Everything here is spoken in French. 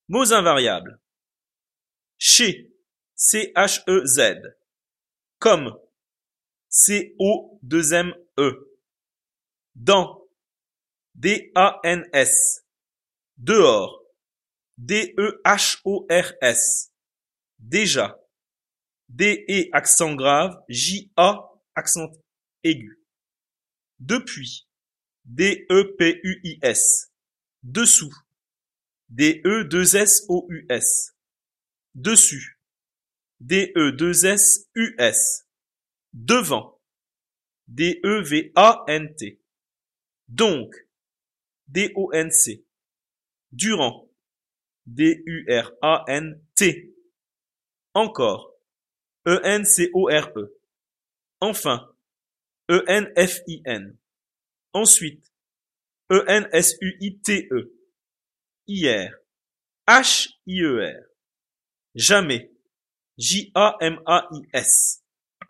Mots invariables. Chez, C-H-E-Z. Comme, C-O-2-M-E. Dans, D-A-N-S. Dehors, D-E-H-O-R-S. Déjà, D-E accent grave, J-A accent aigu. Depuis, D-E-P-U-I-S. Dessous, D-E-2-S-O-U-S. Dessus, D-E-2-S-U-S. Devant, D-E-V-A-N-T. Donc, D-O-N-C. Durant, D-U-R-A-N-T. Encore, E-N-C-O-R-E. Enfin, E-N-F-I-N. Ensuite, E-N-S-U-I-T-E. Hier, H-I-E-R. Jamais, J-A-M-A-I-S.